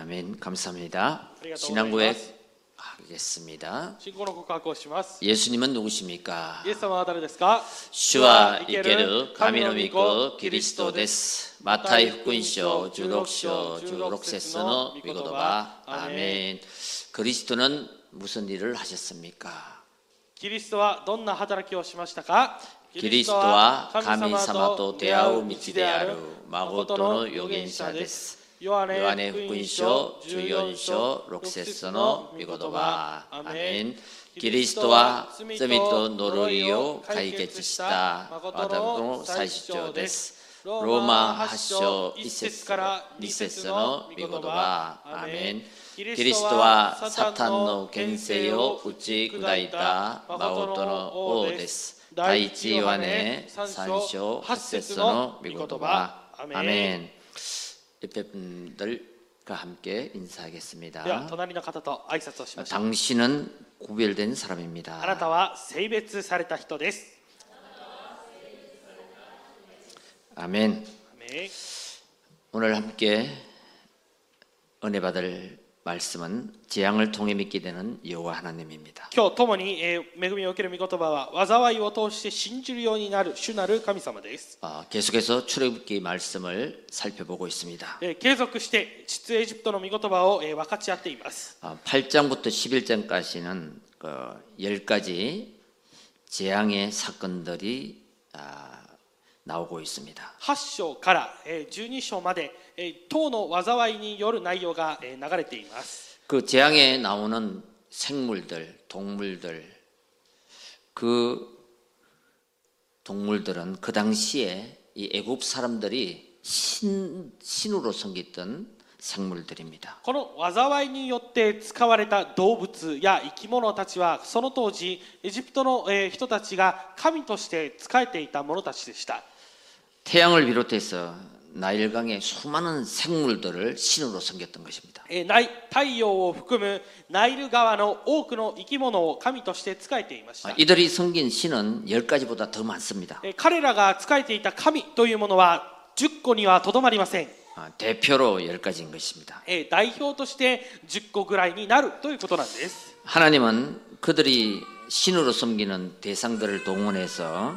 아멘. 감사합니다. ありがとうございます。 신앙고백 하겠습니다. 信仰の告白をします。 예수님은 누구십니까? イエス様は誰ですか？ 주와 이케르 가미노 미코 그리스도 데스. 마타이福音書 16章 16節の御言葉. 아멘. 그리스도는 무슨 일을 하셨습니까? キリストはどんな働きをしましたか？ 그리스도와神様と出会う道である誠の預言者です。 요한의福音書 14章 6節の御言葉. 아멘. 그리스도와罪と呪いを解決した誠の最主張です。 로마 8章 1節から2節の御言葉. 아멘. 그리스도와 사탄의 권세를打ち砕いた誠の王です。 第一ヨハネ3章8節の御言葉. 아멘. 옆에 분들과 함께 인사하겠습니다. では隣の方と挨拶をしましょう。 당신은 구별된 사람입니다. あなたは性別された人です。 아멘. アメン。 오늘 함께 은혜 받을 말씀은 재앙을 통해 믿게 되는 여호와 하나님입니다. 今日共に恵みを受ける御言葉は災いを通して信じるようになる主なる神様です。 계속해서 출애굽기 말씀을 살펴보고 있습니다. 継続して出エジプトの御言葉を分かち合っています。 8장부터 11장까지는 10가지 재앙의 사건들이 나오고 있습니다. 8章から12章まで10の災いによる内容が流れています。 그 재앙에 나오는 생물들, 동물들, 그 동물들은 그 당시에 이 애굽 사람들이 신으로 섬겼던 생물들입니다. この災いによって使われた動物や生き物たちはその当時エジプトの人たちが神として仕えていた者たちでした。 태양을 비롯해서 나일강의 수많은 생물들을 신으로 섬겼던 것입니다. 太陽を含むナイル川の多くの生き物を神として仕えていました。 이들이 섬긴 신은 10가지보다 더 많습니다. 彼らが仕えていた神というものは10個にはとどまりません。 대표로 10가지인 것입니다. 代表として10個ぐらいになるということなんです。 하나님은 그들이 신으로 섬기는 대상들을 동원해서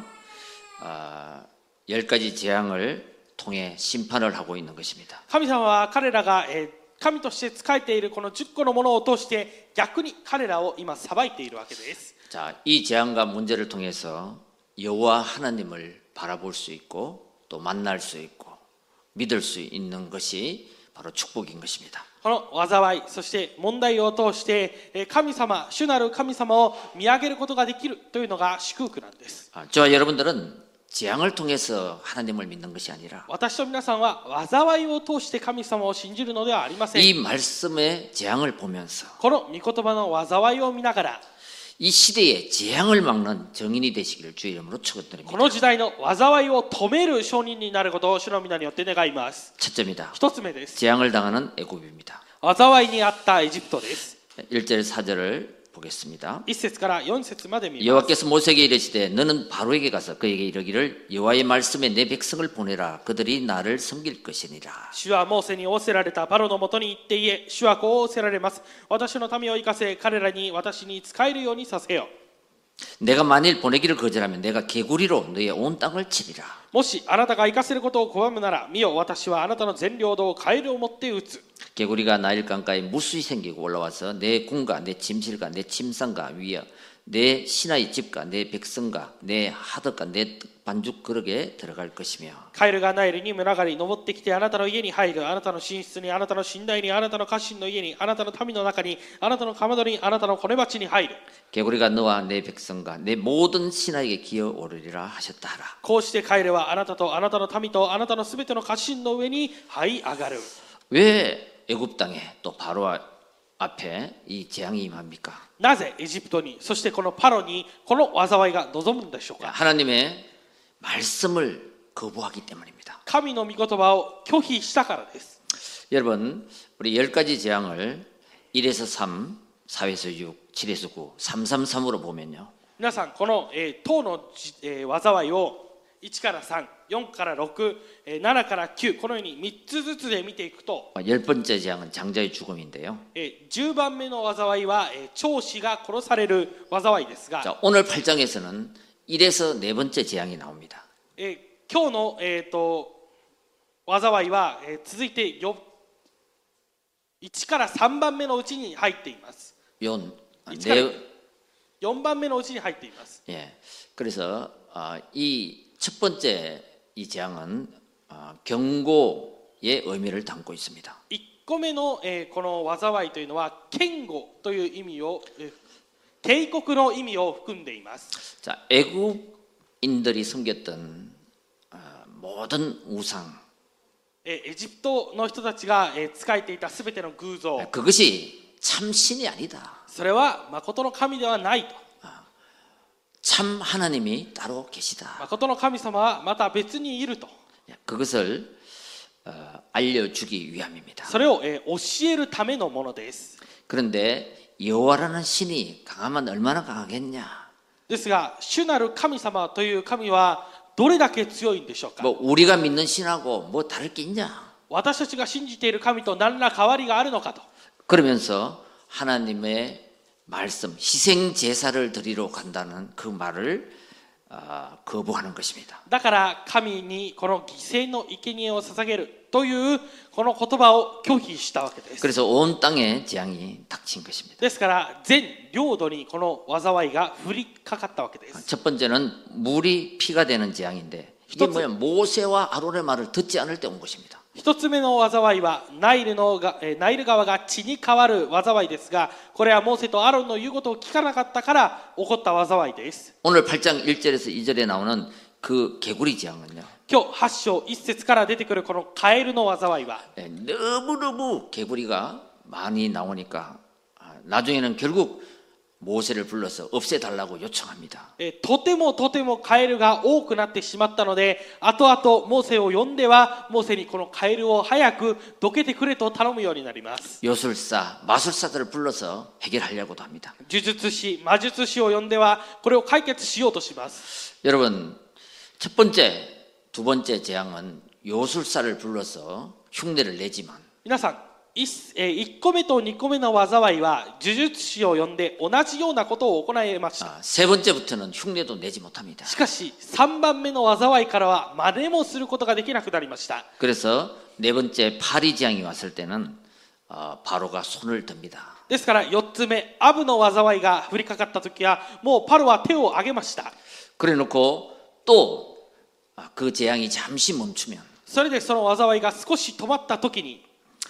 10가지 재앙을 통해 심판을 하고 있는 것입니다. 神様は彼らが神として仕えているこの10個のものを通して逆に彼らを今裁いているわけです。 자, 이 재앙과 문제를 통해서 여호와 하나님을 바라볼 수 있고 또 만날 수 있고 믿을 수 있는 것이 바로 축복인 것입니다. この災いそして問題を通して神様主なる神様を見上げることができるというのが祝福なんです。 저와 여러분들은 재앙을 통해서 하나님을 믿는 것이 아니라 私と皆さんは災いを通して神様を信じるのではありません。 이 말씀의 재앙을 보면서 この御言葉の災いを見ながら 이 시대에 재앙을 막는 정인이 되시기를 주의 이름으로 축원드립니다. この時代の災いを止める証人になることを主の皆によって願います。 첫째입니다. 一つ目です。 재앙을 당하는 애굽입니다. 災いにあったエジプトです。 1절 4절을 보겠습니다. 1節から4節まで見ます。 여호와께서 모세에게 이르시되 너는 바로에게 가서 그에게 이르기를 여호와의 말씀에 내 백성을 보내라 그들이 나를 섬길 것이니라. 主はモーセに仰せられたパロのもとに行って言え、主はこう仰せられます。私の民を生かせ、彼らに私に仕えるようにさせよ。 내가 만일 보내기를 거절하면 내가 개구리로 너의 온 땅을 치리라. もしあなたが生かせることを拒むなら見よ、私はあなたの全領土をカエルを持って撃つ。 개구리가 나일 강가에 무수히 생기고 올라와서 내 궁과 내 침실과 내 침상과 위에 내 신하의 집과 내 백성과 내 하덕과 내 반죽 그릇에 들어갈 것이며 カエルがナイルに群がり登ってきてあなたの家に入る。あなたの寝室に、あなたの寝台に、あなたの家臣の家に、あなたの民の中に、あなたのかまどに、あなたのこね鉢に入る。 개구리가 너와 내 백성과 내 모든 신하에게 기어오르리라 하셨다 하라. こうしてカエルはあなたとあなたの民とあなたのすべての家臣の上に這い上がる。 왜 애굽 땅에 또 바로 앞에 이 재앙이 임합니까? なぜエジプトに、そしてこのパロにこの災いが望むんでしょうか。 하나님의 말씀을 거부하기 때문입니다. 神の御言葉を拒否したからです。 여러분, 우리 10가지 재앙을 1에서 3, 4에서 6, 7에서 9, 333으로 보면요. 皆さんこの10の災いを 1から3、4から6、7から9、このように3つずつで見ていくと、 10번째 재앙은 장자의 죽음인데요. 10番目の災いは長子が殺される災いですが、 자, 오늘 8장에서는 1에서 4번째 재앙이 나옵니다. 今日の、災いは、続いて1から3番目のうちに入っています。 4番目のうちに入っています。 예, 그래서 이 첫 번째 이 재앙은 경고의 의미를 담고 있습니다. 1個目の、この災いというのは堅固という意味を、警告の意味を含んでいます。 자, 애굽인들이 섬겼던 모든 우상, エジプトの人たちが仕えていたすべての偶像、 그것이 참 신이 아니다. それは誠の神ではないと。 참 하나님이 따로 계시다. 誠の神様はまた別にいると。 그것을 알려주기 위함입니다. それを教えるためのものです。 그런데 여호와라는 신이 강하면 얼마나 강하겠냐? ですが、主なる神様という神はどれだけ強いんでしょうか。 뭐 우리가 믿는 신하고 뭐 다를 게 있냐? 私たちが信じている神と何ら変わりがあるのかと。 그러면서 하나님의 말씀, 희생 제사를 드리러 간다는 그 말을 거부하는 것입니다. だから神にこの犠牲の生贄を捧げるというこの言葉を拒否したわけです。 그래서 온 땅에 재앙이 닥친 것입니다. ですから全領土にこの災いが降りかかったわけです。 첫 번째는 물이 피가 되는 재앙인데 이게 뭐야? 모세와 아론의 말을 듣지 않을 때 온 것입니다. 一つ目の災いはナイル川が血に変わる災いですが、これはモーセとアロンの言うことを聞かなかったから起こった災いです。 오늘 8장 1절에서 2절에 나오는 그 개구리 재앙은요. 今日8章1節から出てくるこのカエルの災いは 너무너무 개구리가 많이 나오니까 나중에는 결국 모세를 불러서 없애달라고 요청합니다. とてもカエルが多くなってしまったので、後々モーセを呼んではモーセにこのカエルを早くどけてくれと頼むようになります。 요술사, 마술사들을 불러서 해결하려고도 합니다. 呪術師、魔術師を呼んではこれを解決しようとします。 여러분, 첫 번째, 두 번째 재앙은 요술사를 불러서 흉내를 내지만 皆さん、1個目と2個目の災いは呪術師を呼んで同じようなことを行いました。 세 번째부터는 흉내도 내지 못합니다. しかし3番目の災いからは真似もすることができなくなりました。 그래서 네 번째 파리 재앙이 왔을 때는 바로가 손을 듭니다. ですから4つ目アブの災いが降りかかった時はもうパロは手を挙げました。 그래놓고 또 그 재앙이 잠시 멈추면 それでその災いが少し止まった時に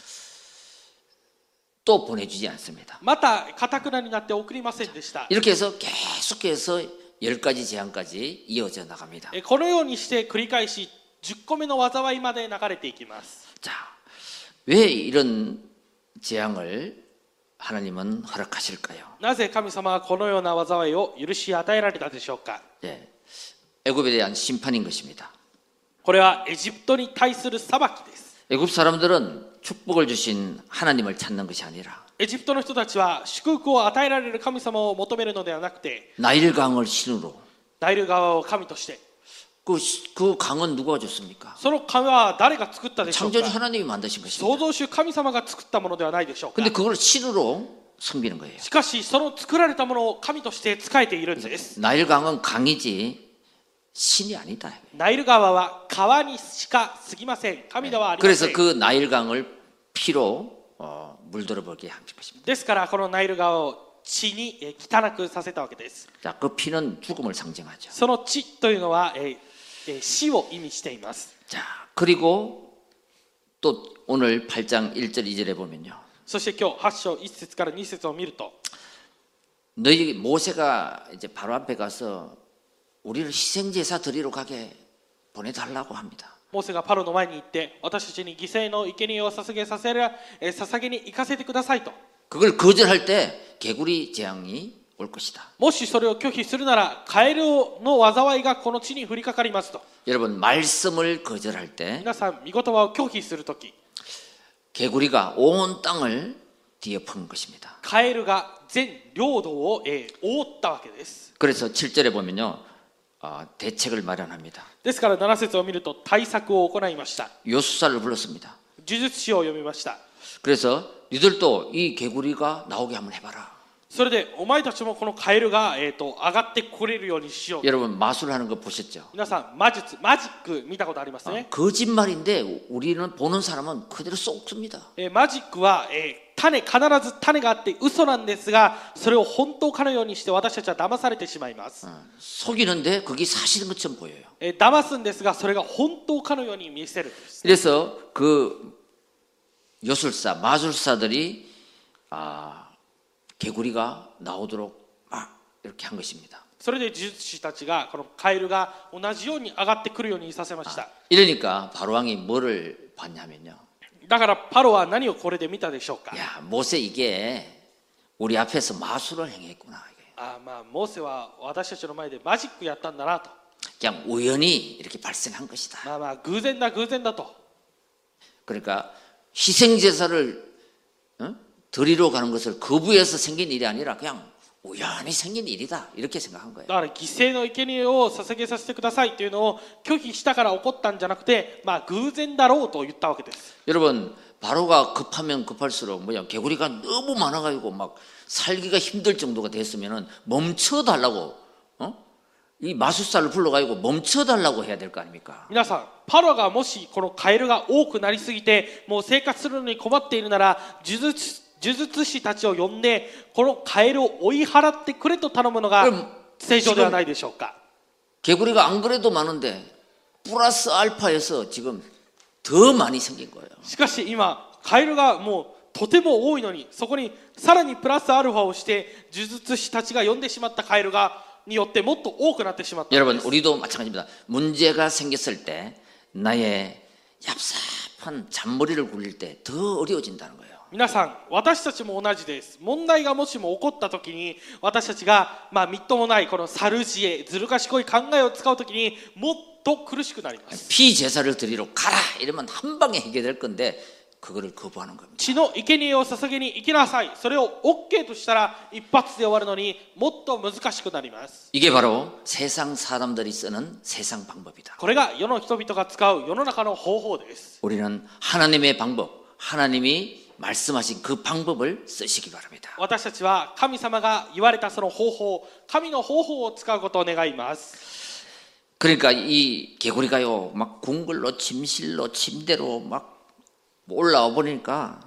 또 보내주지 않습니다. また堅になって送りませんでした。 이렇게 해서 계속해서 10가지 재앙까지 이어져 나갑니다. このようにして繰り返し10個目の災いまで流れていきます。 자, 왜 이런 재앙을 하나님은 허락하실까요? なぜ神様はこのような災いを許し与えられたでしょうか。 예, 애굽에 대한 심판인 것입니다. これはエジプトに対する裁きです。 애굽 사람들은 축복을 주신 하나님을 찾는 것이 아니라 エジプトの人たちは祝福を与えられる神様を求めるのではなくて、 나일강을 신으로 ナイル川を神として、 그 강은 누가 줬습니까? その川は誰が作ったでしょう 창조주 か。 하나님이 만드신 創 것입니다. 造主神様が作ったものではないでしょうか。 근데 그걸 신으로 섬기는 거예요. しかしその作られたものを神として仕えているんです。 나일강은 강이지 신이 아니다. ナイル川は川にしか過ぎません。神ではありませ 그래서 ん。 그 나일강을 피로 물들어 보게 한 것입니다. ですからこのナイル川を血に汚くさせたわけです。 자, 그 피는 죽음을 상징하죠. その血というのは死を意味しています。 자, 그리고 또 오늘 8장 1절 2절에 보면요. そして今日8章1節から2節を見ると、 너희 모세가 이제 바로 앞에 가서 우리를 희생 제사 드리러 가게 보내달라고 합니다. モーセがパロの前に行って私たちに犠牲の生贄を捧げに行かせてくださいと。 그걸 거절할 때 개구리 재앙이 올 것이다. もしそれを拒否するならカエルの災いがこの地に降りかかりますと。 여러분, 말씀을 거절할 때 皆さん、御言葉を拒否するとき、 개구리가 온 땅을 뒤엎은 것입니다. カエルが全領土を覆ったわけです。 그래서 7절에 보면요. 대책을 마련합니다. ですから7節を見ると対策を行いました。 요술사를 불렀습니다. 呪術師を読みました。 그래서 니들도 이 개구리가 나오게 한번 해봐라. それでお前たちもこのカエルが、上がってこれるようにしよう。 여러분 마술하는 거 보셨죠? 皆さんマジック見たことありますね。 거짓말인데 우리는 보는 사람은 그대로 쏙습니다. マジックは、必ず種があって嘘なんですが、それを本当かのようにして私たちは騙されてしまいます。 속이는데 그게 사실인 것처럼 보여요. 騙すんですが、それが本当かのように見せるんです。 그래서 그 요술사, 마술사들이 개구리가 나오도록 막 이렇게 한 것입니다. それで呪術師たちがこのカエルが同じように上がってくるようにさせました。 이러니까 바로 왕이 뭐를 봤냐면요. だからパロは何をこれで見たでしょうか。 야, 모세 이게 우리 앞에서 마술을 행했구나. 이게. モーセは私たちの前でマジックやったんだなと。 그냥 우연히 이렇게 발생한 것이다. 偶然だと。 그러니까 희생제사를 드리러 가는 것을 거부해서 생긴 일이 아니라 그냥 우연히 생긴 일이다. 이렇게 생각한 거예요. だから犠牲の生贄を捧げさせてくださいというのを拒否したから起こったんじゃなくて、偶然だろうと言ったわけです。 여러분 바로가 급하면 급할수록 개구리가 너무 많아가지고 막 살기가 힘들 정도가 됐으면은 멈춰달라고 이 마술사를 불러가지고 멈춰달라고 해야 될 거 아닙니까? 皆さん、パロがもしこのカエルが多くなりすぎてもう生活するのに困っているなら、呪術師たちを呼んでこのカエルを追い払ってくれと頼むのが正常ではないでしょうか。 개구리가 안 그래도 많은데 플러스 알파에서 지금 더 많이 생긴 거예요. しかし今カエルがもうとても多いのに、そこにさらにプラスアルファをして呪術師たちが呼んでしまったカエルがによってもっと多くなってしまった。 여러분 우리도 마찬가지입니다. 문제가 생겼을 때 나의 얍삽한 잔머리를 굴릴 때 더 어려워진다는 거예요. 皆さん、私たちも同じです。問題がもしも起こったときに、私たちがみっともないこの猿知恵、ずる賢い考えを使うときにもっと苦しくなります。 피 제사를 드리러 가라 이러면 한 방에 해결될 건데 그거를 거부하는 겁니다. 血の生贄を捧げに行きなさい。それを OK としたら一発で終わるのにもっと難しくなります。 이게 바로 세상 사람들이 쓰는 세상 방법이다. これが世の人々が使う世の中の方法です。 우리는 하나님의 방법, 하나님이 말씀하신 그 방법을 쓰시기 바랍니다. 私たちは神様が言われたその方法、神の方法を使うことを願います。 그러니까 이 개구리가요, 막 궁궐로 침실로 침대로 막 올라와 보니까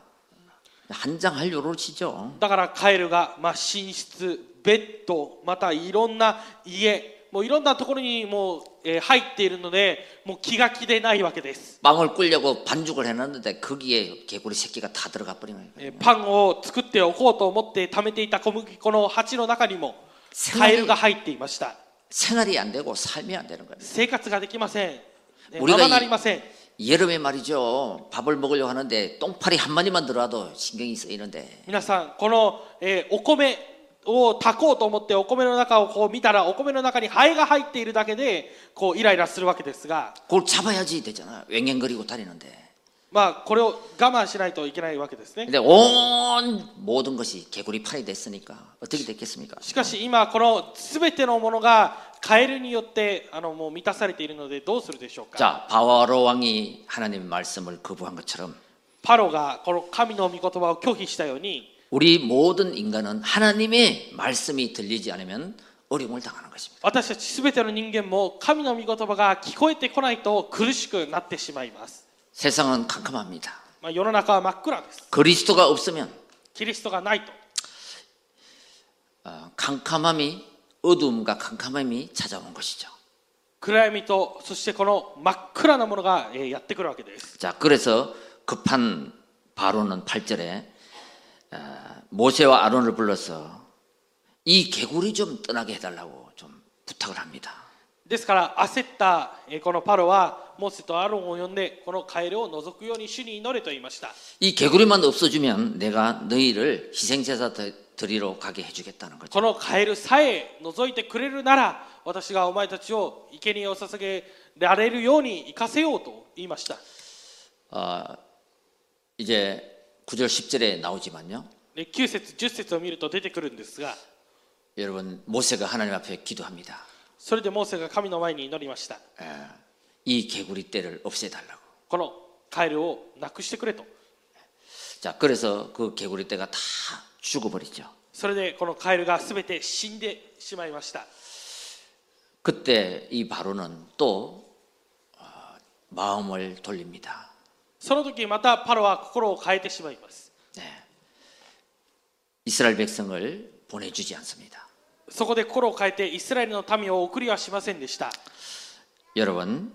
한장할 요로치죠. だからカエルが寝室、ベッド、またいろんな家、もういろんなところにもう入っているので、もう気が気でないわけです。 빵을 꿀려고 반죽을 해놨는데 거기에 개구리 새끼가 다 들어가 버린 거예요. パンを作っておこうと思って貯めていた小麦粉の鉢の中にもカエルが入っていました。 생활이 안 되고 삶이 안 되는 거예요. 生活ができません。ままなりません。 여름에 말이죠. 밥을 먹으려고 하는데 똥파리 한 마리만 들어와도 신경이 쓰이는데. 皆さん、この、お米を炊こうと思ってお米の中をこう見たら、お米の中にハエが入っているだけでこうイライラするわけですが、 그걸 잡아야지 되잖아요. 왱왱거리고 다니는데. これを我慢しないといけないわけですね。 근데 온 모든 것이 개구리판이 됐으니까 어떻게 됐겠습니까? しかし今この全てのものがカエルによってもう満たされているのでどうするでしょうか。 자, 바로 왕이 하나님의 말씀을 거부한 것처럼 パロがこの神の御言葉を拒否したように、 우리 모든 인간은 하나님의 말씀이 들리지 않으면 어려움을 당하는 것입니다. 私たち全ての人間も神の御言葉が聞こえてこないと苦しくなってしまいます。 세상은 캄캄합니다. 世の中は真っ暗です。 그리스도가 없으면 キリストがないと 캄캄함이 어두움과 캄캄함이 찾아오는 것이죠. 暗闇とそしてこの真っ暗なものがやってくるわけです。 자, 그래서 급한 바로는 8절에 모세와 아론을 불러서 이 개구리 좀 떠나게 해달라고 좀 부탁을 합니다. ですから焦ったこのパロはモーセとアロンを呼んでこのカエルを除くように主に祈れと言いました。 이 개구리만 없어지면 내가 너희를 희생제사 드리러 가게 해주겠다는 거죠. このカエルさえ除いてくれるなら私がお前たちを生贄を捧げられるように行かせようと言いました。 이제 9절 10절에 나오지만요. 9節10節を見ると出てくるんですが、 여러분 모세가 하나님 앞에 기도합니다. それでモーセが神の前に祈りました。 이 개구리 떼를 없애달라고. このカエルをなくしてくれと。 자, 그래서 그 개구리 떼가 다 죽어버리죠. それでこのカエルがすべて死んでしまいました。 그때 이 바로는 또 마음을 돌립니다. その時またパロは心を変えてしまいます。 네. 이스라엘 백성을 보내주지 않습니다. そこで心を変えてイスラエルの民を送りはしませんでした。 여러분,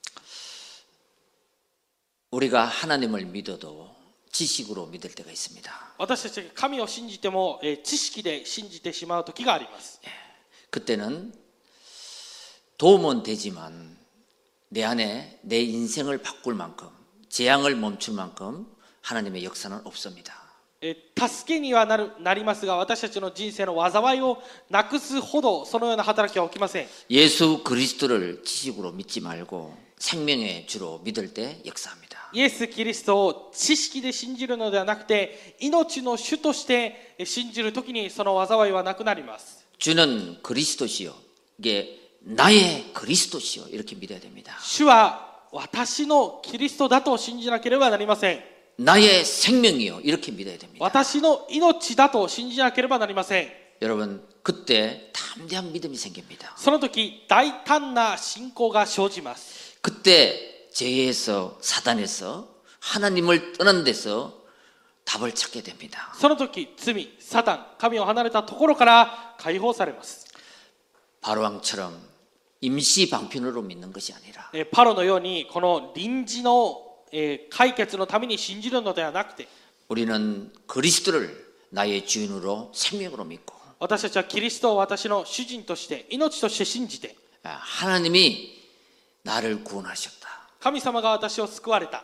우리가 하나님을 믿어도 지식으로 믿을 때가 있습니다. 私たちが神を信じても知識で信じてしまう時があります。 그때는 도움은 되지만 내 안에 내 인생을 바꿀 만큼 재앙을 멈출 만큼 하나님의 역사는 없습니다. 助けにはなりますが、私たちの人生の災いをなくすほどそのような働きは起きません。 예수 그리스도를 지식으로 믿지 말고 생명의 주로 믿을 때 역사합니다. イエス・キリストを知識で信じるのではなくて、命の主として信じるときにその災いはなくなります。 주는 그리스도시요. 이게 나의 그리스도시요. 이렇게 믿어야 됩니다. 主は私のキリストだと信じなければなりません。 나의 생명이요. 이렇게 믿어야 됩니다. 私の命だと信じなければなりません。 여러분, 그때 담대한 믿음이 생깁니다. その時大胆な信仰が生じます。 그때 죄에서 사단에서 하나님을 떠난 데서 답을 찾게 됩니다. その時罪、サタン、神を離れたところから解放されます。 바로왕처럼 임시 방편으로 믿는 것이 아니라 パロのようにこの臨時の解決のために信じるのではなくて、 우리는 그리스도를 나의 주인으로 생명으로 믿고 私たちはキリストを私の主人として命として信じて、 하나님이 나를 구원하셨다. 神様が私を救われた。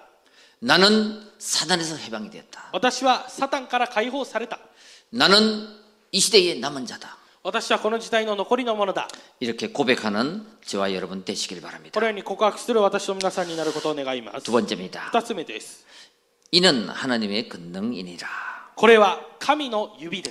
나는 사단에서 해방이 됐다. 私はサタンから解放された。 나는 이 시대의 남은 자다. 私はこの時代の残りのものだ。 이렇게 고백하는 저와 여러분 되시길 こ 바랍니다. のように告白する私と皆さんになることを願います。 두 번째입니다. 2つ目です。 이는 하나님의 권능이니라. これは神の指です。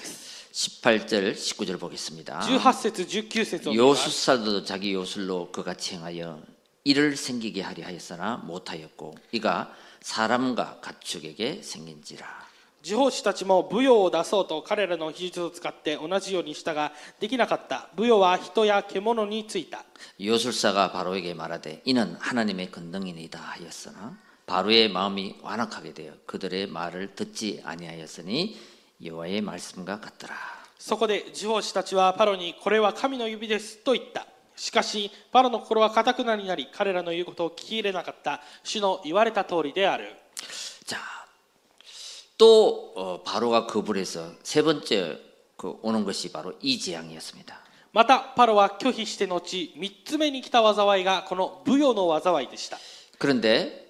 18절 19절 보겠습니다. 18節19節を見ます。 요술사도 자기 요술로 그같이 행하여 이를 생기게 하려 하였으나 못하였고 이가 사람과 가축에게 생긴지라. 地方士たちも舞踊を出そうと彼らの技術を使って同じようにしたができなかった。舞踊は人や獣についた。 요술사가 바로에게 말하되 이는 하나님의 권능이니이다 하였으나 바로의 마음이 완악하게 되어 그들의 말을 듣지 아니하였으니 여호와의 말씀과 같더라. そこで地方士たちはパロにこれは神の指ですと言った。しかしパロの心は堅くなりなり彼らの言うことを聞き入れなかった。主の言われた通りである。 자, 또 바로가 거부해서 세 번째 오는 것이 바로 이 재앙이었습니다. またパロは拒否して後3つ目に来た災いがこの舞踊の災いでした。 그런데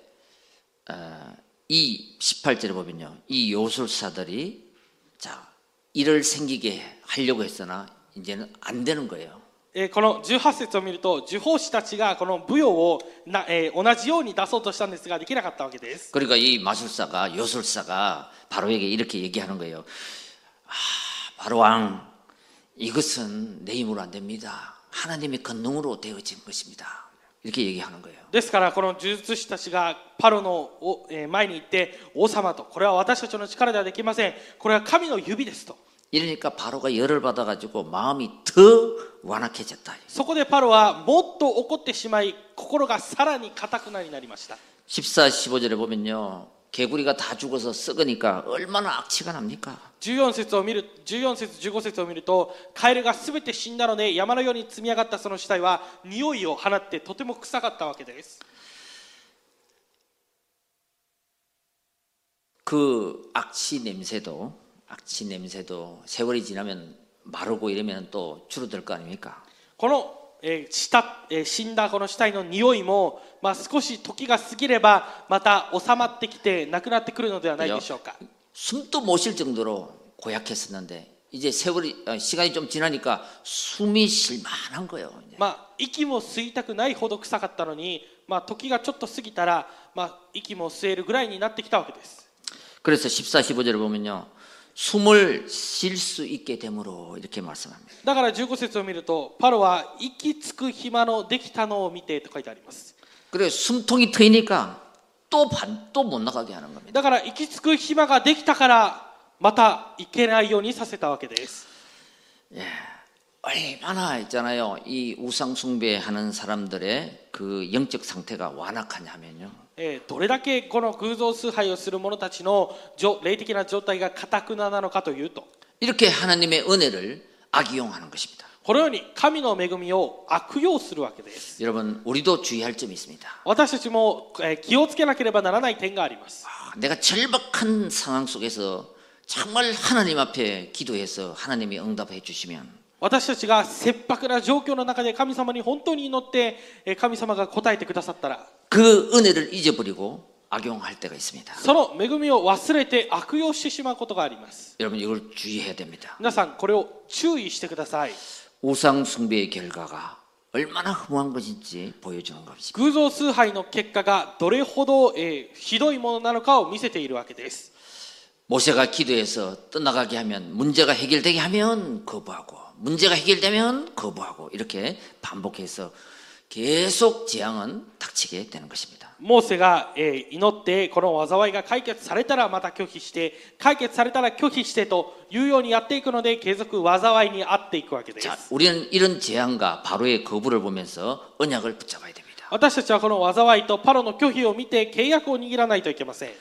이 18절에 보면요, 이 요술사들이 자 일을 생기게 하려고 했으나 이제는 안 되는 거예요. この18節を見ると受法師たちがこの舞踊を同じように出そうとしたんですができなかったわけです。 그러니까 이 마술사가 요술사가 바로에게 이렇게 얘기하는 거예요. 바로 왕, 이것은 내 힘으로 안 됩니다. 하나님의 권능으로 되어진 것입니다. 이렇게 얘기하는 거예요. ですからこの呪術師たちがパロの前に行って王様とこれは私たちの力ではできません。これは神の指ですと。 이러니까 바로가 열을 받아가지고 마음이 더 완악해졌다. そこでパロはもっと怒ってしまい心がさらに固くなりました。 14, 15절에 보면요, 개구리가 다 죽어서 썩으니까 얼마나 악취가 납니까? 14節15節を見るとカエルがすべて死んだので山のように積み上がったその死体は匂いを放ってとても臭かったわけです。 그 악취 냄새도 세월이 지나면 마르고 이러면 또 줄어들 거 아닙니까? この死んだこの死体の匂いも、少し時が過ぎればまた収まってきてなくなってくるのではないでしょうか。 숨도 못 쉴 정도로 고약했었는데 이제 시간이 좀 지나니까 숨이 쉴만한 거예요. 息も吸いたくないほど臭かったのに、時がちょっと過ぎたら、息も吸えるぐらいになってきたわけです。 그래서 14, 15절을 보면요, 숨을 쉴 수 있게 되므로 이렇게 말씀합니다. だから15節を見るとパロは息つく暇のできたのを見てと書いてあります。 그래 숨통이 트이니까 또 못 나가게 하는 겁니다. だから息つく暇ができたからまた行けないようにさせたわけです。 예, 얼마나 있잖아요. 이 우상 숭배하는 사람들의 그 영적 상태가 완악하냐면요. どれだけこの偶像崇拝をする者たちの霊的な状態が堅くななのかというと 이렇게 하나님의 은혜를 악용하는 것입니다. このように神の恵みを悪用するわけです。 여러분 우리도 주의할 점이 있습니다. 私たちも気をつけなければならない点があります。 내가 절박한 상황 속에서 정말 하나님 앞에 기도해서 하나님이 응답해 주시면 私たちが切迫な状況の中で神様に本当に祈って神様が答えてくださったら 그 은혜를 잊어버리고 악용할 때가 있습니다. その恵みを忘れて悪用してしまうことがあります。 여러분 이걸 주의해야 됩니다. 皆さんこれを注意してください。 우상 숭배의 결과가 얼마나 흠한 것인지 보여주는 것입니다. 偶像崇拝の結果がどれほどひどいものなのかを見せているわけです。 모세가 기도해서 떠나가게 하면 문제가 해결되게 하면 거부하고 문제가 해결되면 거부하고 이렇게 반복해서 계속 재앙은 닥치게 되는 것입니다. モーセが祈ってこの災いが解決されたらまた拒否して解決されたら拒否してというようにやっていくので継続災いに遭っていくわけです。 자, 우리는 이런 재앙과 바로의 거부를 보면서 언약을 붙잡아야 됩니다. 私たちはこの災いとパロの拒否を見て契約を握らないといけません。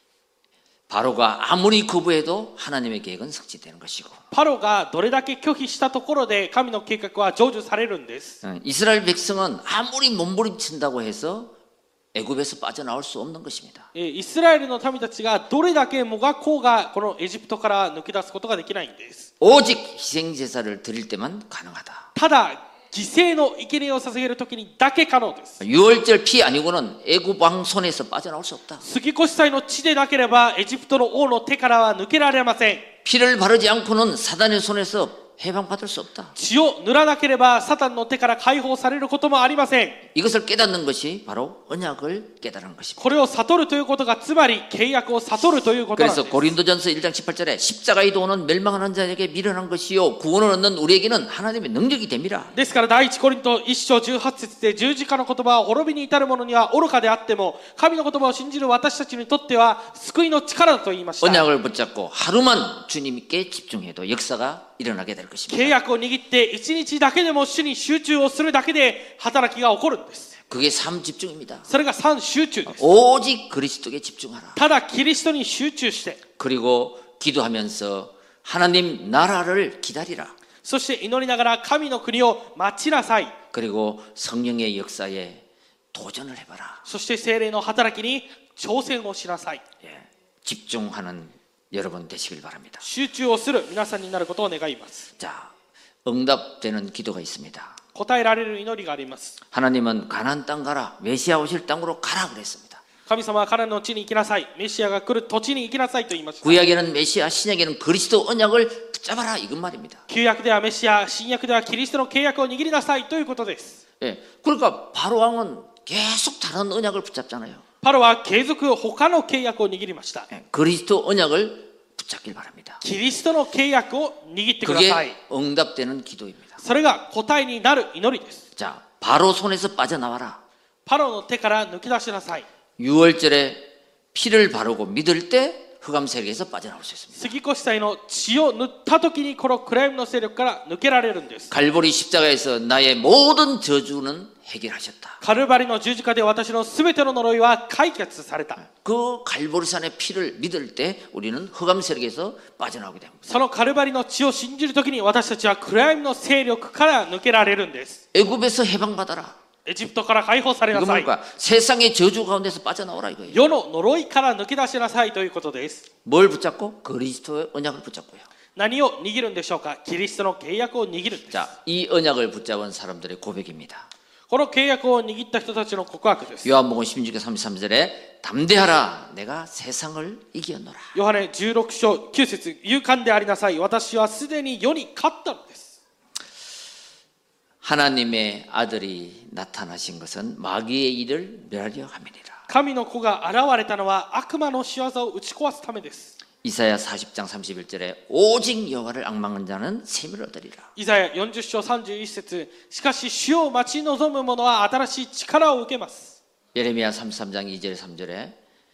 바로가 아무리 거부해도 하나님의 계획은 성취되는 것이고 パロがどれだけ拒否したところで神の計画は成就されるんです。 이스라엘 백성은 아무리 몸부림친다고 해서 애굽에서 빠져나올 수 없는 것입니다. イスラエルの民たちがどれだけもがこうがこのエジプトから抜け出すことができないんです。 오직 희생제사를 드릴 때만 가능하다. ただ犠牲の生贄を捧げるときにだけ可能です。 유월절 피 아니고는 애굽 왕 손에서 빠져나올 수 없다. 杉越祭の地でなければエジプトの王の手からは抜けられません。 피를 바르지 않고는 사단의 손에서 해방받을 수 없다. 血を塗らなければサタンの手から解放されることもありません。 이것을 깨닫는 것이 바로 언약을 깨달은 것입니다. これを悟るということがつまり契約を悟るということなんで 그래서 す。 고린도전서 1장 18절에 십자가의 도는 멸망하는 자에게 미련한 것이요 구원을 얻는 우리에게는 하나님의 능력이 됩니다. ですから第一コリント1章18節で十字架の言葉は滅びに至る者には愚かであっても神の言葉を信じる私たちにとっては救いの力だと言いました。 언약을 붙잡고 하루만 주님께 집중해도 역사가 일어나게 될 것입니다. 契約を握って一日だけでも主に集中をするだけで働きが起こるんです。 그게 삶 집중입니다. それが3集中です。 오직 그리스도께 집중하라. ただキリストに集中して 그리고 기도하면서 하나님 나라를 기다리라. そして祈りながら神の国を待ちなさい。 그리고 성령의 역사에 도전을 해봐라. そして聖霊の働きに挑戦をしなさい。 예, 집중하는 여러분 되시길 바랍니다. 集中をする皆さんになることを願います。 자, 응답되는 기도가 있습니다. 答えられる祈りがあります。 하나님은 가나안 땅 가라, 메시아 오실 땅으로 가라 그랬습니다. 神様はカナンの地に行きなさい。メシアが来る土地に行きなさいと言いました。 구약에는 메시아, 신약에는 그리스도 언약을 붙잡아라 이건 말입니다. 旧約ではメシア、新約ではキリストの契約を握りなさいということです。 예, 그러니까 바로 왕은 계속 다른 언약을 붙잡잖아요. パロは継続他の契約を握りました。 예, 그리스도 언약을 붙잡길 바랍니다. キリストの契約を握ってください。 그게 응답되는 기도입니다. それが答えになる祈りです。 자, 바로 손에서 빠져나와라. パロの手から抜き出しなさい。 유월절에 피를 바르고 믿을 때 흑암 세력에서 빠져나올 수 있습니다. 杉越祭の血を塗った時にこの暗闇の勢力から抜けられるんです。 갈보리 십자가에서 나의 모든 저주는 해결하셨다. カルバリの十字架で私のすべての呪いは解決された。 그 갈보리산의 피를 믿을 때 우리는 흑암 세력에서 빠져나오게 됩니다. そのカルバリの血を信じる時に私たちは暗闇の勢力から抜けられるんです。 애굽에서 해방받아라. エジプトから解放され 이거 なさい。 뭡니까? 세상의 저주 가운데서 빠져나오라 이거예요. 世の呪いから抜け出しなさいということです。 뭘 붙잡고? 그리스도의 언약을 붙잡고요. 何を握るんでしょうか。キリストの契約を握るんです。 자, 이 언약을 붙잡은 사람들의 고백입니다. この契約を握った人たちの告白です。 요한복음 16장 33절에 담대하라 내가 세상을 이겼노라. ヨハネ16章9節勇敢でありなさい。私はすでに世に勝ったのです。 하나님의 아들이 나타나신 것은 마귀의 일을 멸하려 함이니라. 神の子が現れたのは悪魔の仕業を打ち壊すためです。 이사야 40장 31절에 오직 여호와를 앙망하는 자는 샘을 얻으리라. イザヤ40章31節、しかし主を待ち望む者は新しい力を受けます。 예레미야 33장 2절 3절에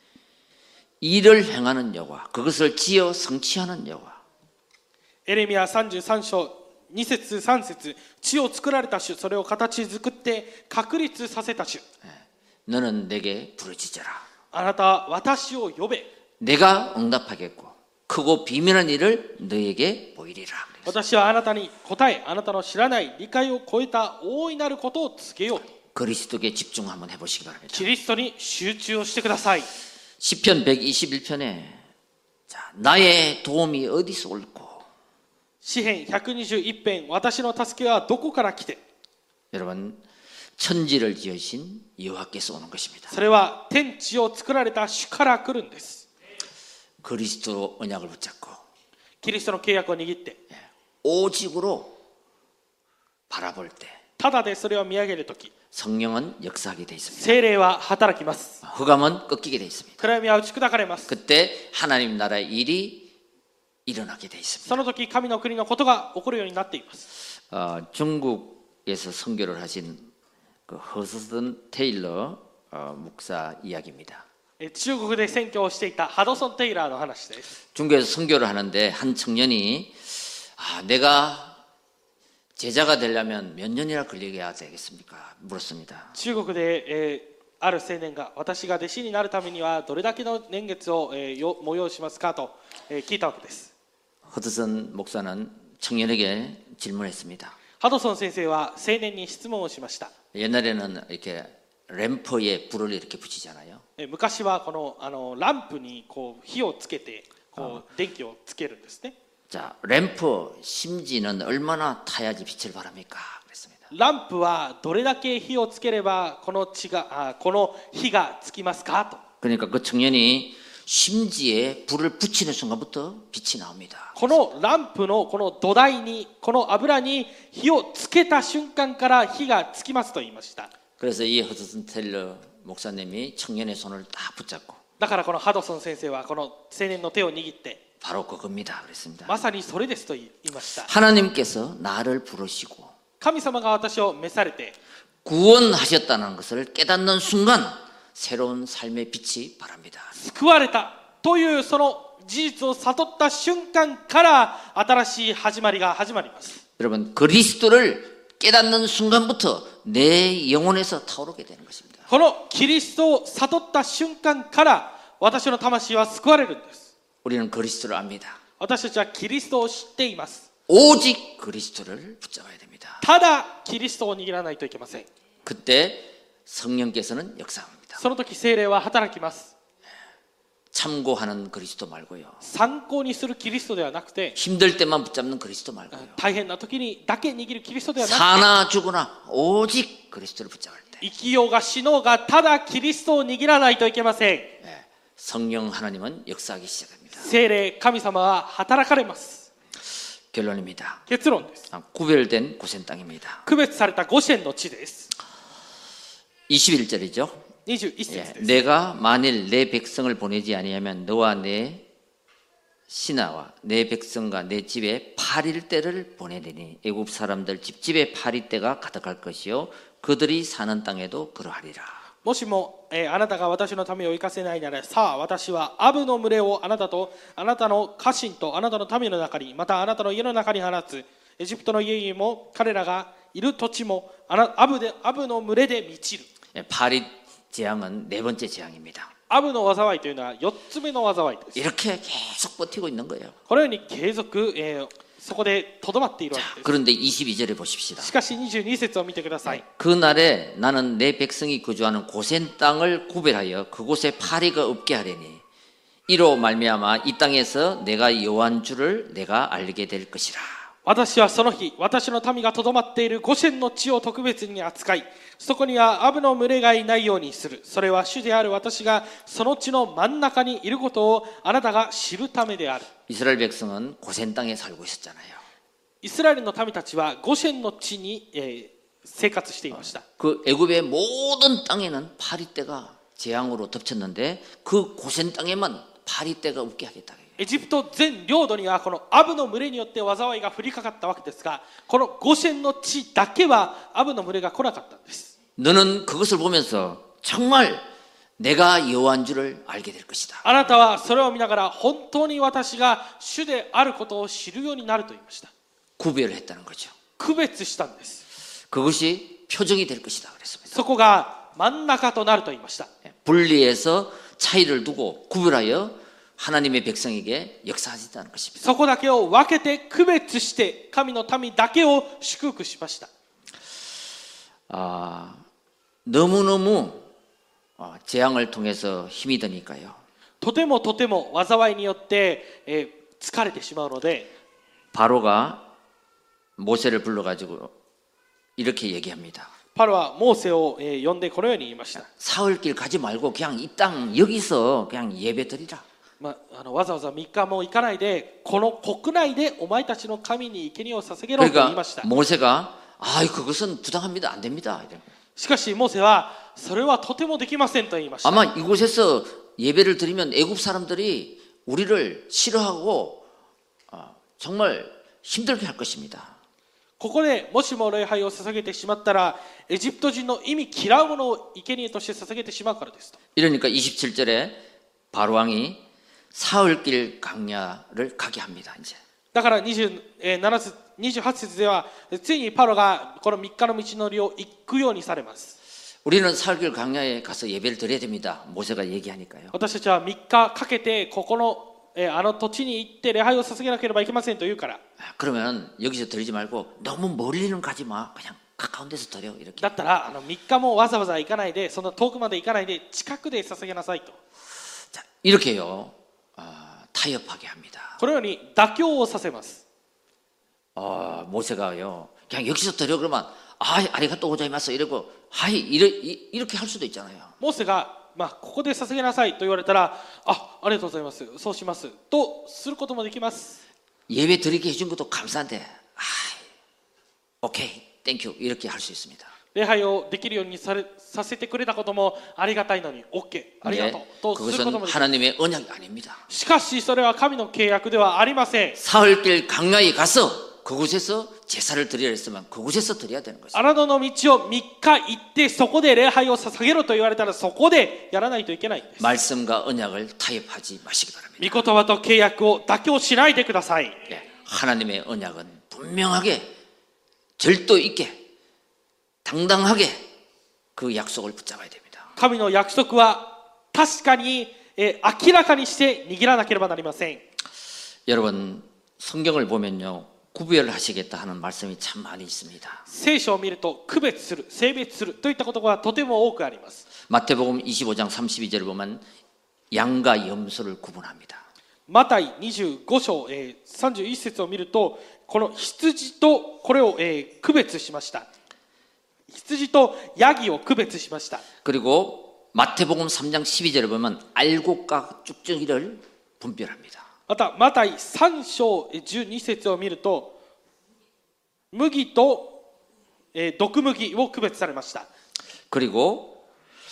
일을 행하는 여호와, 그것을 지어 성취하는 여호와. エレミヤ33章2節3節、地を作られた主、それを形作って確立させた主。 너는 내게 부르짖어라. あなたは私を呼べ。 내가 응답하겠고 크고 비밀한 일을 너에게 보이리라. 私はあなたに答え、あなたの知らない理解を超えた大いなることを告げようと。 그리스도께 집중 한번 해보시기 바랍니다. キリストに集中をしてください。 시편 121편에 자, 나의 도움이 어디서 올고. 詩編121編、私の助けはどこから来て。 여러분, 천지를 지으신 여호와께서 오는 것입니다. それは天地を作られた主から来るんです。 그리스도 언약을 붙잡고 キリストの契約を握って、 오직으로 바라볼 때 ただでそれを見上げるとき、 성령은 역사하게 되어 있습니다. 聖霊は働きます。 흑암은 꺾이게 되어 있습니다. 暗闇は打ち砕かれます。 그때 하나님 나라의 일이 일어나게 되어 있습니다. その時、神の国のことが起こるようになっています。 중국에서 선교를 하신 그 허스든 테일러 목사 이야기입니다. 中国で宣教をしていたハドソン・テイラーの話です。 중국에서 선교를 하는데 한 청년이 내가 제자가 되려면 몇 년이나 걸리게 되겠습니까? 물었습니다. 中国で、ある青年が、私が弟子になるためにはどれだけの年月を、催しますかと、聞いたわけです。 허드슨 목사는 청년에게 질문했습니다. ハドソン先生は青年に質問をしました。 옛날에는 이렇게 램프에 불을 이렇게 붙이잖아요. 昔はこの、ランプにこう火をつけてこう電気をつけるんですね。 자, 램프 심지는 얼마나 타야지 빛을 발합니까? 그랬습니다. ランプはどれだけ火をつければこの火がつきますかと。 그러니까 그 청년이 심지에 불을 붙이는 순간부터 빛이 나옵니다. このランプのこの土台に、この油に火をつけた瞬間から火がつきますと言いました。 그래서 이 허드슨 테일러 목사님이 청년의 손을 딱 붙잡고 だからこのハドソン先生はこの青年の手を握って、 바로 그겁니다. 그랬습니다. まさにそれですと言いました。 하나님께서 나를 부르시고 神様が私を召されて 구원하셨다는 것을 깨닫는 순간 새로운 삶의 빛이 바랍니다. 救われたというその事実を悟った瞬間から新しい始まりが始まります。 여러분, 그리스도를 깨닫는 순간부터 내 영혼에서 타오르게 되는 것입니다. このキリストを悟った瞬間から私の魂は救われるんです。 우리는 그리스도를 압니다. 私たちはキリストを知っています。 오직 그리스도를 붙잡아야 됩니다. ただキリストを握らないといけません。 그때 성령께서는 역사합니다. その時聖霊は働きます。 참고하는 그리스도 말고요. 参考にするキリストではなくて、 힘들 때만 붙잡는 그리스도 말고요. 大変な時にだけ握るキリストではなくて、 사나 죽으나 오직 그리스도를 붙잡을 때 生きようが死のうがただキリストを握らないといけません。 성령 하나님은 역사하기 시작합니다. 聖霊神様は働かれます。 결론입니다. 結論です。 구별된 고센 땅입니다. 区別されたゴシェンの地です。 21절이죠. 21節です。 내가 만일 내 백성을 보내지 아니하면 너와 내 신하와 내 백성과 내 집에 파리떼를 보내리니 애굽 사람들 집집에 파리떼가 가득할 것이요 그들이 사는 땅에도 그러하리라. もしも、あなたが私のためを生かせないなら、さあ私はアブの群れをあなたとあなたの家臣とあなたの民の中に、またあなたの家の中に放つ。エジプトの家々も彼らがいる土地もアブの群れで満ちる。 파리 재앙은 네 번째 재앙입니다. アブの災いというのは4つ目の災いです。 이렇게 계속 버티고 있는 거예요. このように継続、そこでとどまっているわけです。 그런데 22절에 보십시다. しかし22節を見てください。 그날에 나는 내 백성이 거주하는 고센 땅을 구별하여 그곳에 파리가 없게 하려니 이로 말미암아 이 땅에서 내가 여호와인 줄을 내가 알게 될 것이라. 私はその日、私の民がとどまっているゴシェンの地を特別に扱い、そこにはアブの群れがいないようにする。それは主である私がその地の真ん中にいることをあなたが知るためである。 이스라엘 백성은 고센 땅에 살고 있었잖아요. イスラエルの民たちはゴシェンの地に、生活していました。 그 애굽의 모든 땅에는 파리떼가 재앙으로 덮쳤는데 그 고센 땅에만 파리떼가 없게 하겠다. エジプト全領土にはこのアブの群れによって災いが降りかかったわけですが、このゴシェンの地だけはアブの群れが来なかったんです。 너는 그것을 보면서 정말 내가 여호와인 줄을 알게 될 것이다. あなたはそれを見ながら本当に私が主であることを知るようになると言いました。 구별을 했다는 거죠. 区別したんです。 그것이 표적이 될 것이다 그랬습니다. そこが真ん中となると言いました。 분리해서 차이를 두고 구별하여 하나님의 백성에게 역사하셨다는 것입니다. そこだけを分けて区別して神の民だけを祝福しました。 너무너무 재앙을 통해서 힘이 드니까요. とても災いによって、疲れてしまうので、 바로가 모세를 불러가지고 이렇게 얘기합니다. パロはモーセを、呼んでこのように言いました。 사흘길 가지 말고 그냥 이 땅 여기서 그냥 예배 드리라. わざわざ3日も行かないで、この国内でお前たちの神に生贄を捧げろと言いました。 그러니까 모세가 그것은 부당합니다. 안 됩니다. しかしモーセはそれはとてもできませんと言いました。 아마 이곳에서 예배를 드리면 애굽 사람들이 우리를 싫어하고 정말 힘들게 할 것입니다. ここでもしも礼拝を捧げてしまったら、エジプト人の意味嫌うものを生贄として捧げてしまうからですと。 이러니까 27절에 바로 왕이 사흘길 광야를 가게 합니다. 이제. だから28節ではついにパロがこの3日の道のりを行くようにされます。 우리는 사흘길 광야에 가서 예배를 드려야 됩니다. 모세가 얘기하니까요. 私たちは3日かけてここのあの土地に行って礼拝を捧げなければいけませんと言うから。 그러면 여기서 드리지 말고 너무 멀리는 가지 마. 그냥 가까운 데서 드려. 이렇게. だったら3日もわざわざ行かないで、その遠くまで行かないで近くで捧げなさいと。 자, 이렇게요. 타협하게 합니다. このように妥協をさせます。 모세가요. 그냥 여기서 드려 그러면 아리가또 고자이마스 이러고 이렇게 할 수도 있잖아요. モーセがここで捧げなさいと言われたら、ありがとうございます、そうしますとすることもできます。 예배 드리게 해준 것도 감사한데, 오케이, 땡큐 이렇게 할 수 있습니다. 礼拝をできるようにさせてくれたこともありがたいのに OK、 ありがとうとすることもできます。 하나님의 언약이 아닙니다. しかしそれは神の契約ではありません。 사흘길 광야에 가서 그곳에서 제사를 드리라 했으면 그곳에서 드려야 되는 것입니다. 荒野の道を3日行ってそこで礼拝を捧げろと言われたらそこでやらないといけないんです。 말씀과 언약을 타협하지 마시기 바랍니다. 御言葉と契約を妥協しないでください。 하나님의 언약은 분명하게 절도 있게 당당하게 그 약속을 붙잡아야 됩니다. 神の約束は確かに、明らかにして握らなければなりません。 여러분 성경을 보면요. 구별하시겠다 하는 말씀이 참 많이 있습니다. 聖書を見ると区別する、性別するといったことがとても多くあります。 마태복음 25장 32절을 보면 양과 염소를 구분합니다. マタイ25章、31節を見るとこの羊とこれを、区別しました。羊とヤギを区別しました。 그리고 마태복음 3장 12절을 보면 알곡과 쭉정이를 분별합니다. またマタイ3章12節を見ると麦と、毒麦を区別されました。 그리고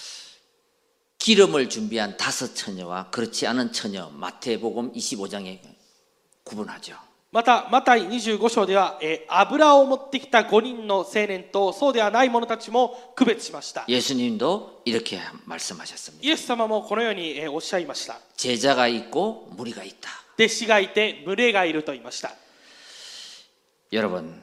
기름을 준비한 5 처녀와 그렇지 않은 처녀 마태복음 25장에 구분하죠. またマタイ25章では、油を持ってきた5人の青年とそうではない者たちも区別しました。 예수님도 이렇게 말씀하셨습니다. イエス様もこのように、おっしゃいました。 제자가 있고 무리가 있다. 弟子がいて群れがいると言いました。 여러분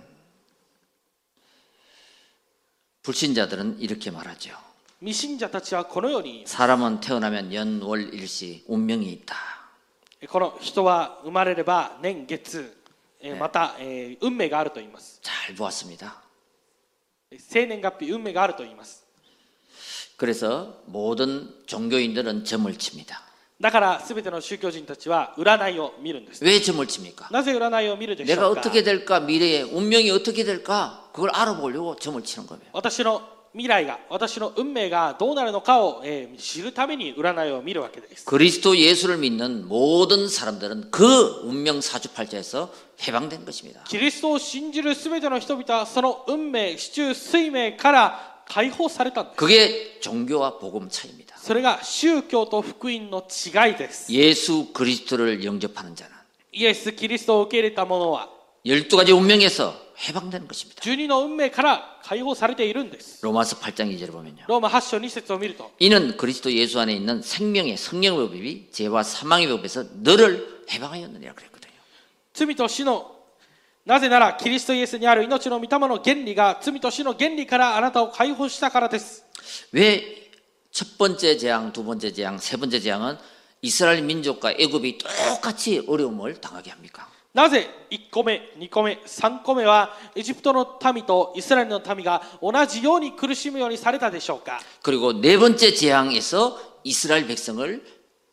불신자들은 이렇게 말하죠. 未信者たちはこのように 사람은 태어나면 연월일시 운명이 있다. この人は生まれれば年月、また、運命があると言います。 잘 보았습니다. 生年月日運命があると言います。 그래서 모든 종교인들은 점을 칩니다. だから全ての宗教人たちは占いを見るんです。 왜 점을 칩니까? なぜ占いを見るでしょ 내가 うか。 어떻게 될까 미래에 운명이 어떻게 될까 그걸 알아보려고 점을 치는 거예요. 私の未来が、私の運命がどうなるのかを、知るために占いを見るわけです。 그리스도 예수를 믿는 모든 사람들은 그 운명 사주팔자에서 해방된 것입니다. キリストを信じる全ての人々はその運命、四柱推命から解放されたんです。 그게 종교와 복음 차이입니다. それが宗教と福音の違いです。 예수 그리스도를 영접하는 자는 イエス・キリストを受け入れた者は 12가지 운명에서 해방되는 것입니다. 12の運命から解放されているんです。 로마서 8장 2절을 보면요. ローマ8章2節を見ると 이는 그리스도 예수 안에 있는 생명의 성령의 법이 죄와 사망의 법에서 너를 해방하였느니라 그랬거든요. 罪と死のなぜならキリストイエスにある命の御霊の原理が罪と死の原理からあなたを解放したからです。 왜 첫 번째 재앙, 두 번째 재앙, 세 번째 재앙은 이스라엘 민족과 애굽이 똑같이 어려움을 당하게 합니까? なぜ1個目、2個目、3個目はエジプトの民とイスラエルの民が同じように苦しむようにされたでしょうか。 그리고 네 번째 재앙에서 이스라엘 백성을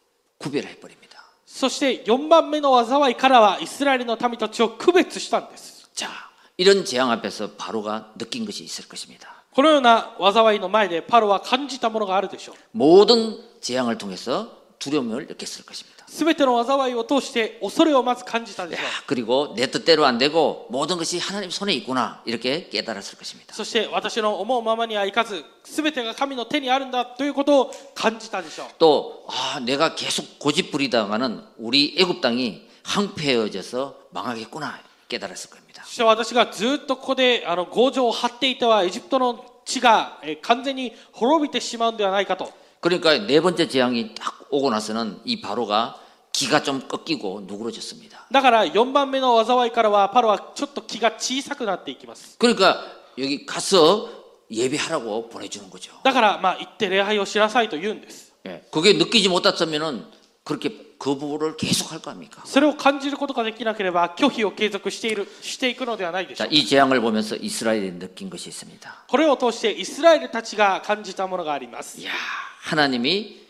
구별해 버립니다. そして4番目の災いからはイスラエルの民たちを区別したんです。 자, 이런 재앙 앞에서 바로가 느낀 것이 있을 것입니다. このような災いの前でパロは感じたものがあるでしょう。 모든 재앙을 통해서 두려움을 느꼈을 것입니다. すべての災いを通して恐れをまず感じたでしょう。 그리고 내 뜻대로 안 되고 모든 것이 하나님 손에 있구나 이렇게 깨달았을 것입니다. そして私の思うままにはいかずすべてが神の手にあるんだということを感じたでしょう。 또 내가 계속 고집부리다가는 우리 애굽 땅이 황폐해져서 망하겠구나 깨달았을 겁니다. そして私がずっとここで強情を張っていてはエジプトの地が完全に滅びてしまうんではないかと。 그러니까 네 번째 재앙이 딱 오고 나서는 이 바로가 기가 좀 꺾이고 누그러졌습니다. だから4番目の災いからはパロはちょっと気が小さくなっていきます。 그러니까 여기 가서 예배하라고 보내주는 거죠. だから行って礼拝をしなさいと言うんです。 그게 느끼지 못했으면은 그렇게 거부를 계속 할 거 아닙니까? それを感じることができなければ拒否を継続していくのではないでしょ 자, うか。 이 재앙을 보면서 이스라엘이 느낀 것이 있습니다. これを通してイスラエルたちが感じたものがあります。 이야, 하나님이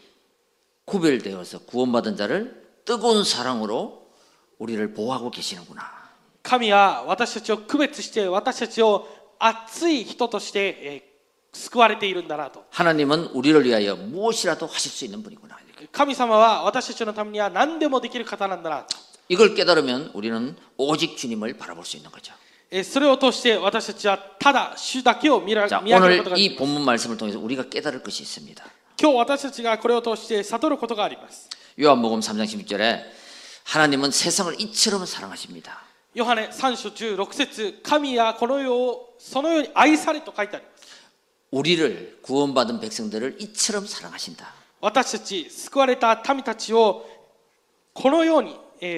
구별되어서 구원받은 자를 뜨거운 사랑으로 우리를 보호하고 계시는구나. 神は私たちを区別して私たちを熱い人として救われているんだなと。 하나님은 우리를 위하여 무엇이라도 하실 수 있는 분이구나. 神様は私たちのためには何でもできる方なんだなと。 이걸 깨달으면 우리는 오직 주님을 바라볼 수 있는 거죠. それを通して私たちはただ主だけを見上 자, げること 오늘 ができ 이 ます。 본문 말씀을 통해서 우리가 깨달을 것이 있습니다. 今日私たちがこれを通して悟ることがあります。 요한복음 3장 16절에 하나님은 세상을 이처럼 사랑하십니다. ヨハネ3章16節神はこの世をそのように愛されと書いてあります。 우리를 구원받은 백성들을 이처럼 사랑하신다. 私たち救われた民たちをこのように、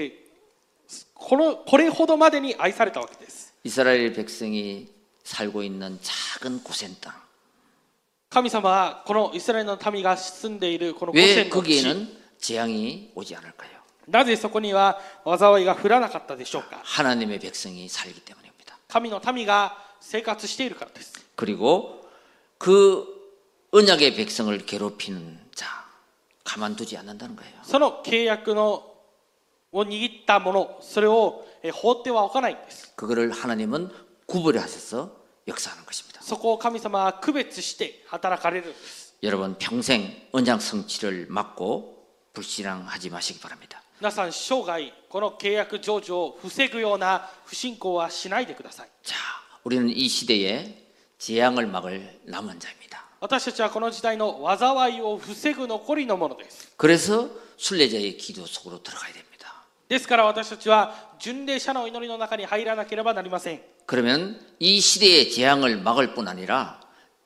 これほどまでに愛されたわけです。 이스라엘 백성이 살고 있는 작은 고센 땅. 神様はこのイスラエルの民が住んでいるこのゴ 왜 センの地 거기에는 재앙이 오지 않을까요? なぜそこには災いが降らなかったでしょうか。 하나님의 백성이 살기 때문입니다. 神の民が生活しているからです。 그리고 그 언약의 백성을 괴롭히는 자 가만두지 않는다는 거예요. その契約を握ったものそれを放ってはおかないんです。 그거를 하나님은 구별하셔서 역사하는 것입니다. そこを神様は区別して働かれるんです。 여러분 평생 언약 성취를 막고 불신앙하지 마시기 바랍니다. 皆さん生涯この契約成就を防ぐような不信仰はしないでください。 자, 우리는 이 시대에 재앙을 막을 남은 자입니다. 私たちはこの時代の災いを防ぐ残りのものです。 그래서 순례자의 기도 속으로 들어가야 됩니다. ですから私たちは巡礼者の祈りの中に入らなければなりません。 그러면 이 시대의 재앙을 막을 뿐 아니라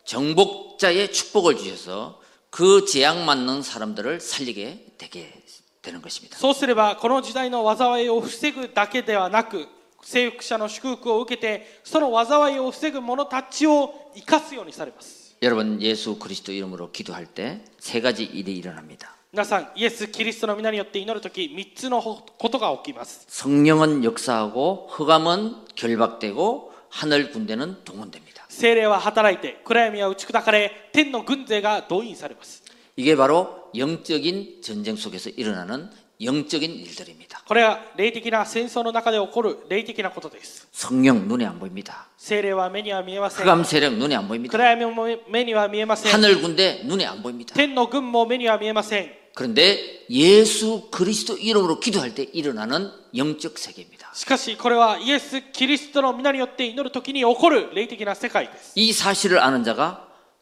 정복자의 축복을 주셔서 그 재앙 맞는 사람들을 살리게 되게 되는 것입니다. そうすればこの時代の災いを防ぐだけではなく征服者の祝福を受けてその災いを防ぐ者たちを生かすようにされます。 여러분 예수 그리스도 이름으로 기도할 때 세 가지 일이 일어납니다. 皆さんイエス・キリストの皆によって祈るとき3つのことが起きます。 성령은 역사하고 흑암은 결박되고 하늘 군대는 동원됩니다. 聖霊は働いて暗闇は打ち砕かれ天の軍勢が動員されます。 이게 바로 영적인 전쟁 속에서 일어나는 영적인 일들입니다. これは霊的な戦争の中で起こる霊的なことです。 성령 눈에 안 보입니다. 聖霊は目には見えません。 흑암 세력 눈에 안 보입니다. 暗闇も目には見えません。 하늘 군대 눈에 안 보입니다. 天の軍も目には見えません。 그런데 예수 그리스도 이름으로 기도할 때 일어나는 영적 세계입니다. しかしこれはイエス・キリストの皆によって祈るときに起こる霊的な世界です。 이 사실을 아는 자가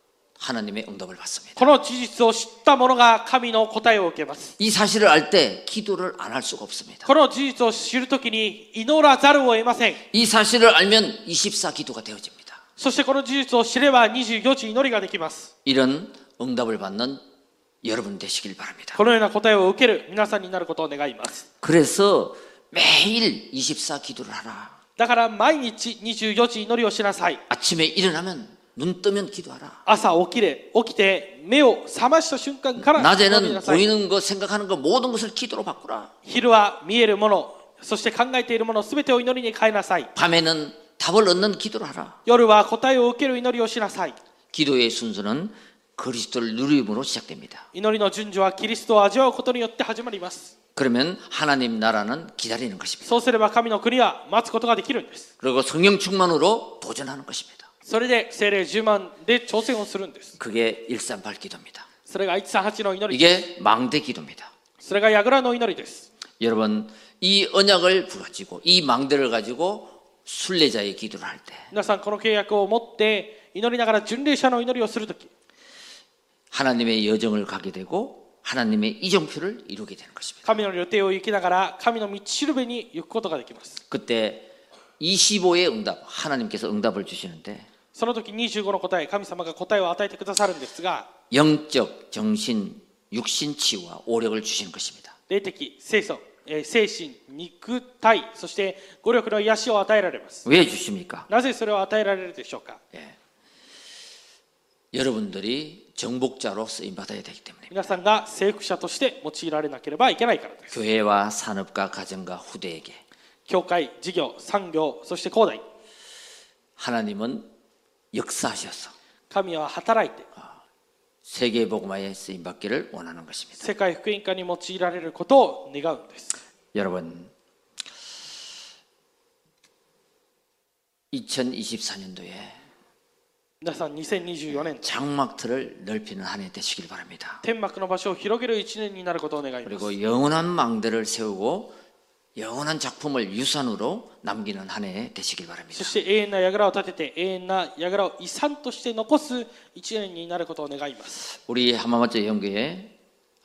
하나님의 응답을 받습니다. この事実を知った者が神の答えを受けます。 이 사실을 알 때 기도를 안 할 수가 없습니다. この事実を知るときに祈らざるを得ません。 이 사실을 알면 24 기도가 되어집니다. そしてこの事実を知れば24時祈りができます。 이런 응답을 받는 여러분 되시길 바랍니다. このような答えを受ける皆さんになることを願います。 그래서 매일 24 기도를 하라. だから毎日24時祈りをしなさい。 아침에 일어나면 눈 뜨면 기도하라. 朝起きて目を覚ました瞬間から祈り 낮에는 なさい。 보이는 것, 생각하는 것 모든 것을 기도로 바꾸라. 昼は見えるもの、そして考えているものすべてを祈りに変えなさい。 밤에는 답을 얻는 기도를 하라. 夜は答えを受ける祈りをしなさい。 기도의 순서는 그리스도를 누림으로 시작됩니다. 祈りの順序はキリストを味わうことによって始まります。 그러면 하나님 나라는 기다리는 것입니다. そうすれば神の国は待つことができるんです。 그리고 성령 충만으로 도전하는 것입니다. それで聖霊10万で挑戦をするんです。 그게 138 기도입니다. それが138の祈り。 이게 망대 기도입니다. それが櫓の祈りです。 여러분 이 언약을 가지고 이 망대를 가지고 순례자의 기도를 할 때 皆さんこの契約を持って祈りながら巡礼者の祈りをするとき、 하나님의 여정을 가게 되고 하나님의 이정표를 이루게 되는 것입니다. 神の予定を行きながら神の道しるべに行くことができます。 그때 25의 응답, 하나님께서 응답을 주시는데 その時25の答え、神様が答えを与えてくださるんですが、 영적, 정신, 육신 치유와 오력을 주시는 것입니다. 霊的、精神、肉体、そして語力の癒しを与えられます。 왜 주십니까? なぜそれを与えられるでしょうか。 여러분들이 정복자로 쓰임 받아야 되기 때문입니다. 皆さんが征服者として用いられなければいけないからです。 교회와 산업과 가정과 후대에게 教会、事業、産業、そして広大、 하나님은 역사하셔서 神は働いて 세계 복음화에 쓰임 받기를 원하는 것입니다. 世界福音化に用いられることを願うんです。 여러분 2024년도에 皆さん2024年 장막틀을 넓히는 한 해 되시길 바랍니다. 天幕の場所を広げる1年になることを願います。 그리고 영원한 망대를 세우고 영원한 작품을 유산으로 남기는 한 해 되시길 바랍니다. そして永遠な櫓を建てて永遠な櫓を遺産として残す1年になることを願います。 우리浜松영교회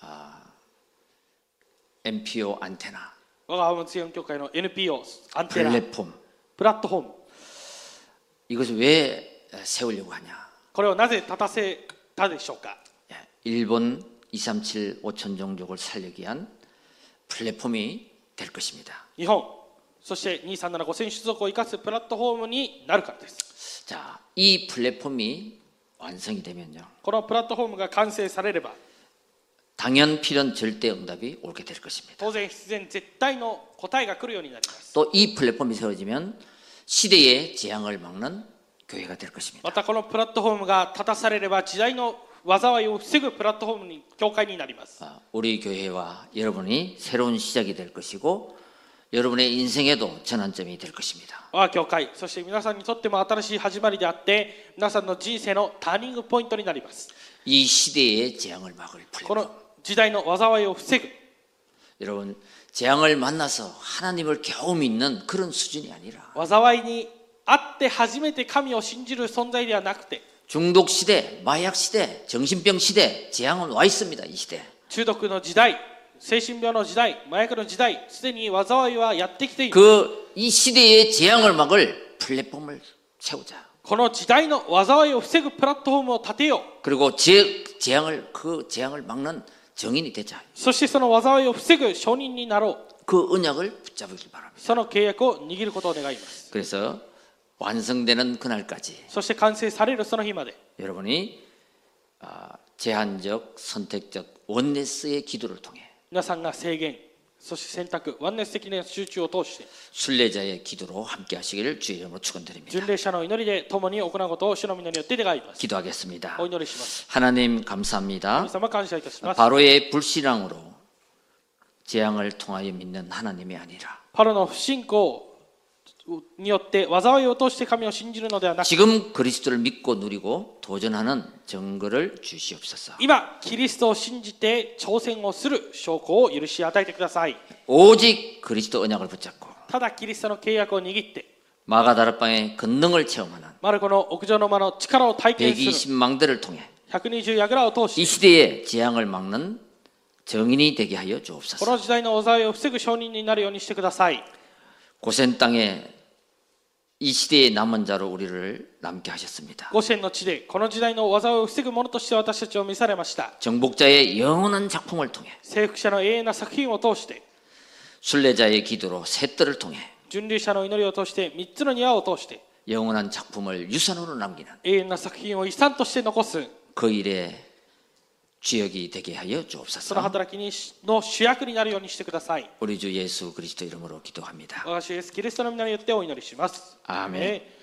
MPO 안테나 我が浜松4教会の NPO アンテナ 플랫폼 プラットフォーム、 이것을 왜 세우려고 하냐? これをなぜ立たせたでしょうか。 일본 237 5천 종족을 살리기 위한 플랫폼이 될 것입니다. 日本、そして2375選出族を生かすプラットフォームになるからです。 자, 이 플랫폼이 완성이 되면요. このプラットフォームが完成されれば 당연 필연 절대 응답이 오게 될 것입니다. 当然必然絶対の答えが来るようになります。 또 이 플랫폼이 세워지면 시대의 재앙을 막는 교회가 될 것입니다. またこのプラットフォームが立たされれば時代の災いを防ぐプラットフォームに教会になります。 우리 교회와 여러분이 새로운 시작이 될 것이고 여러분의 인생에도 전환점이 될 것입니다. 我が教会、そして皆さんにとっても新しい始まりであって皆さんの人生のターニングポイントになります。 이 시대의 재앙을 막을 こ 플랫폼. の時代の災いを防ぐ、 여러분 재앙을 만나서 하나님을 겨우 믿는 그런 수준이 아니라 災いにあって初めて神を信じる存在ではなくて、 중독 시대, 마약 시대, 정신병 시대, 재앙은 와 있습니다. 이 시대. 中毒の時代、精神病の時代、麻薬の時代、すでに災いはやってきている。 이 시대의 재앙을 막을 플랫폼을 세우자. この時代の災いを防ぐプラットフォームを立てよう。 그리고 그 재앙을 막는 정인이 되자. そしてその災いを防ぐ証人になろう。 그 언약을 붙잡으길 바랍니다. その契約を握ることを願います。 그래서 완성되는 그날까지 そして完成されるその日まで 여러분이 제한적, 선택적 원네스의 기도를 통해 皆さんが制限、そして選択、ワンネス的な集中を通して 순례자의 기도로 함께 하시기를 주의 이름으로 축원드립니다. 巡礼者の祈りで共に行うことを主の皆によって願います。 기도하겠습니다. お祈りします。 하나님 감사합니다. 神様感謝いたします。 바로의 불신앙으로 재앙을 통하여 믿는 하나님이 아니라 パロの不信仰によって災いを通して神を信じるのではなく、 지금 그리스도를 믿고 누리고 도전하는 증거를 주시옵소서. 今キリストを信じて挑戦をする証拠を許し与えてください。 오직 그리스도 언약을 붙잡고 ただキリストの契約を握って 마가다락방의 권능을 체험하는 マルコの屋上の間の力を体験する 120망대를 통해 120櫓を通 이 して 시대의 재앙을 막는 정인이 되게 하여 こ 주옵소서. の時代の災いを防ぐ証人になるようにしてください。 고센 땅에 이 시대의 남은 자로 우리를 남게 하셨습니다. ゴシェンの地でこの時代の災いを防ぐ者として私たちを召されました。 정복자의 영원한 작품을 통해 征服者の永遠な作品を通して、 순례자의 기도로 새 뜰을 통해 巡礼者の祈りを通して、3つの庭を通して、 영원한 작품을 유산으로 남기는 永遠な作品を遺産として残す、 그 일에 주역이 되게 하여 その 주옵소서. 働きの主役になるようにしてください。 우리 주 예수 그리스도 이름으로 기도합니다. 私イエスキリストの皆によってお祈りします。 아멘. アーメン。